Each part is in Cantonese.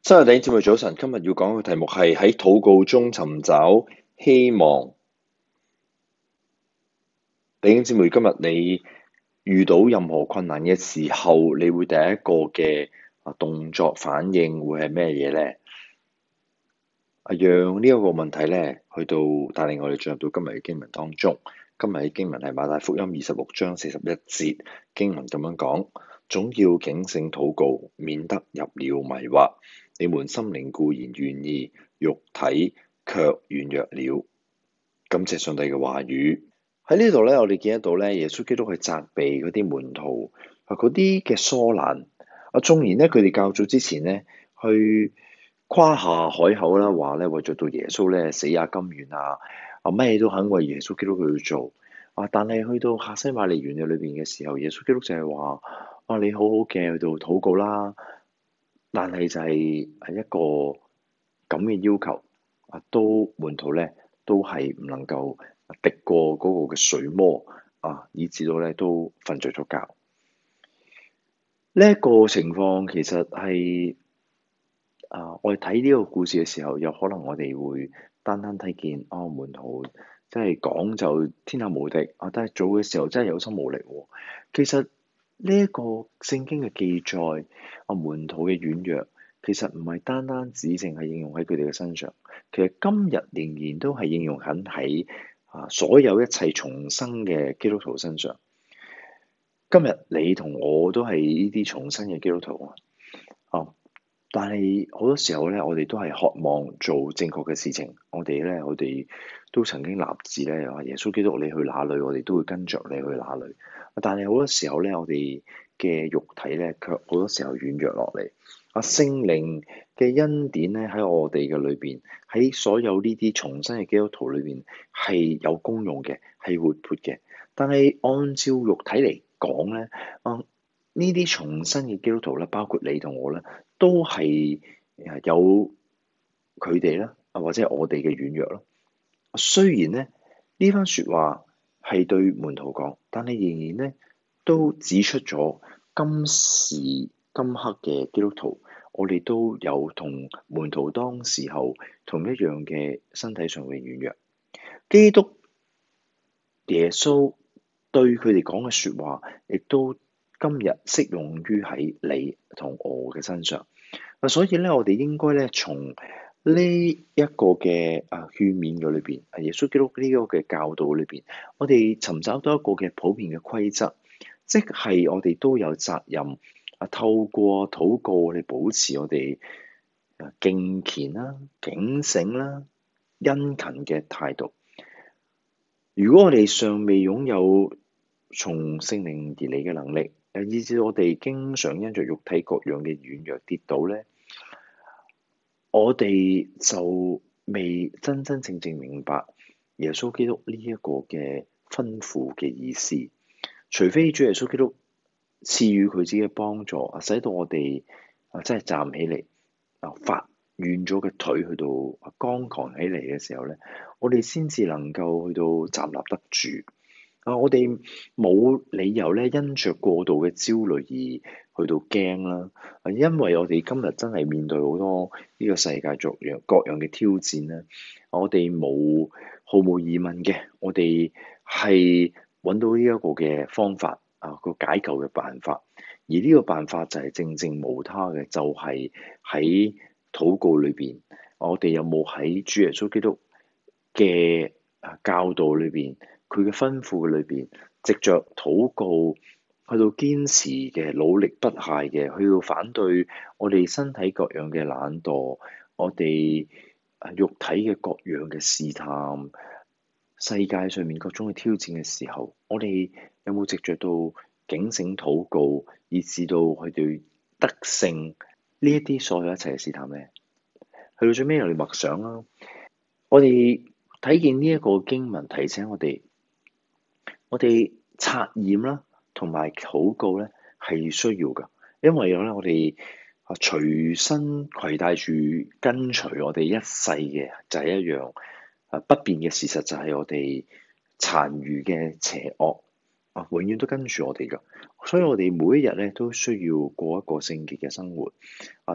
新日弟兄姊妹早晨，今日要講嘅題目係喺禱告中尋找希望。弟兄姊妹，今日你遇到任何困難嘅時候，你會第一個嘅動作反應會係咩嘢呢？讓呢一個問題咧，去到帶領我哋進入到今日嘅經文當中。今日嘅經文係馬太福音26章41節，經文咁樣講：總要警醒禱告，免得入了迷惑。你們心靈固然願意，肉體卻軟弱了。感謝上帝嘅話語。喺呢度咧，我哋見得到咧，耶穌基督去責備嗰啲門徒嗰啲嘅疏懶。縱然咧，佢哋較早之前咧去誇下海口啦，話咧為咗到耶穌咧死也甘願咩都肯為耶穌基督去做但係去到客西馬尼園嘅裏邊嘅時候，耶穌基督就係話你好好嘅去到禱告啦，但係就係一個咁嘅要求都門徒咧都係唔能夠敵過嗰個嘅水魔以至到咧都瞓着咗覺。呢一個情況其實係我哋睇呢個故事嘅時候，有可能我哋會單單睇見門徒即係講就天下無敵但係做嘅時候真係有心無力喎。其實呢一個聖經嘅記載門徒嘅軟弱，其實唔係單單只淨係應用喺佢哋嘅身上，其實今日仍然都係應用緊喺所有一切重生嘅基督徒身上。今日你同我都係呢啲重生嘅基督徒但係好多時候咧，我哋都係渴望做正確嘅事情。我哋都曾經立志咧，話耶穌基督你去哪裏，我哋都會跟着你去哪裏。但係好多時候咧，我哋嘅肉體咧，卻好多時候軟弱落嚟。聖靈嘅恩典咧喺我哋嘅裏邊，喺所有呢啲重生嘅基督徒裏邊係有功用嘅，係活潑嘅。但係按照肉體嚟講咧，呢啲重生嘅基督徒咧，包括你同我咧，都係有佢哋啦，或者係我哋嘅軟弱咯。雖然咧呢番説話係對門徒講，但係仍然咧都指出咗今時今刻嘅基督徒，我哋都有同門徒當時候同一樣嘅身體上嘅軟弱。基督耶穌對佢哋講嘅説話，亦都今日適用於喺你同我嘅身上。所以咧，我哋應該咧從呢一個嘅勸勉嘅裏邊，耶穌基督呢個嘅教導裏邊，我哋尋找到一個嘅普遍嘅規則，即係我哋都有責任透過禱告嚟保持我哋敬虔啦、警醒啦、殷勤嘅態度。如果我哋尚未擁有從聖靈而嚟嘅能力，以致我哋經常因着肉體各樣嘅軟弱跌倒咧，我哋就未真真正正明白耶穌基督呢一個嘅吩咐嘅意思。除非主耶穌基督賜予佢自己嘅幫助，使到我哋真係站起嚟發軟咗嘅腿去到剛強起嚟嘅時候咧，我哋先至能夠去到站立得住。我哋冇理由咧，因着過度嘅焦慮而去到驚啦。因為我哋今日真係面對好多呢個世界各樣嘅挑戰咧，我哋毫無疑問嘅，我哋係揾到呢一個嘅方法個解救嘅辦法。而呢個辦法就係正正無他嘅，就係喺禱告裏邊，我哋有冇喺主耶穌基督嘅教導裏邊，佢嘅吩咐嘅裏邊，藉着禱告去到堅持嘅、努力不懈嘅，去到反對我哋身體各樣嘅懶惰，我哋肉體嘅各樣嘅試探，世界上面各種嘅挑戰嘅時候，我哋有冇藉着到警醒禱告，以至到佢哋得勝呢一啲所有一切嘅試探咧？去到最尾，我哋默想啦，我哋睇見呢一個經文提醒我哋察驗啦，同埋禱告咧係需要㗎，因為咧我哋隨身攜帶住跟隨我哋一世嘅就係一樣不變嘅事實，就係我哋殘餘嘅邪惡永遠都跟住我哋㗎，所以我哋每一日咧都需要過一個聖潔嘅生活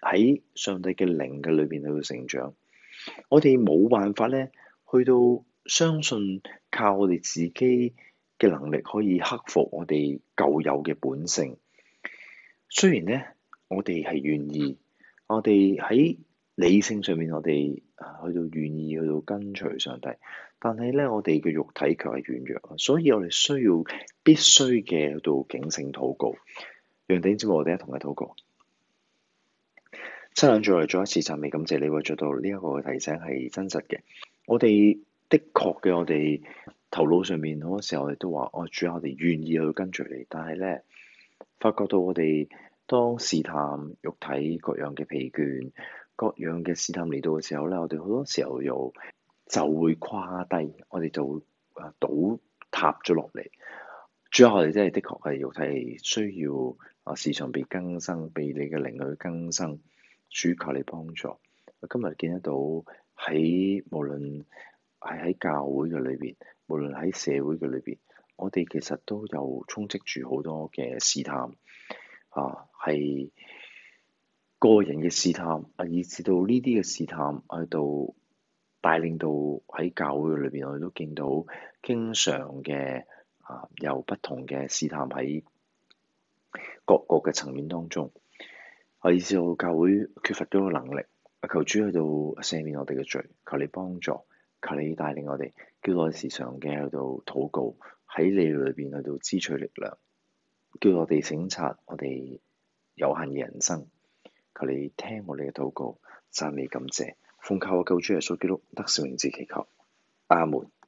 喺上帝嘅靈嘅裏邊去到成長。我哋冇辦法咧，去到相信靠我哋自己嘅能力可以克服我哋舊有嘅本性。雖然咧，我哋係願意，我哋喺理性上面，我哋去到願意去到跟隨上帝，但係咧，我哋嘅肉體卻係軟弱，所以我哋必須嘅去到警醒禱告。讓弟兄姊妹我哋一同嘅禱告。親愛嘅再一次讚美感謝你，為做到呢一個提醒係真實嘅。我哋的確嘅，我哋頭腦上面好多時候我哋都話：哦，主啊，我哋願意去跟隨你。但係咧，發覺到我哋當試探肉體各樣嘅疲倦、各樣嘅試探嚟到嘅時候咧，我哋好多時候又就會垮低，我哋就會倒塌咗落嚟。主啊，我哋真係的確係肉體係需要時常被更新，被你嘅靈去更新。主求你幫助。今日見得到喺無論係喺教會嘅裏邊，無論喺社會嘅裏邊，我哋其實都有充斥住好多嘅試探係個人嘅試探以至到呢啲嘅試探去到帶領到喺教會嘅裏邊，我哋都見到經常嘅有不同嘅試探喺各個嘅層面當中。以至到教會缺乏咗個能力，求主去到赦免我哋嘅罪，求你幫助，求你帶領我哋，叫我哋時常嘅去到禱告，喺你裏邊去到支取力量，叫我哋省察我哋有限嘅人生，求你聽我哋嘅禱告，讚美感謝，奉靠我救主耶穌基督得勝名字祈求，阿門。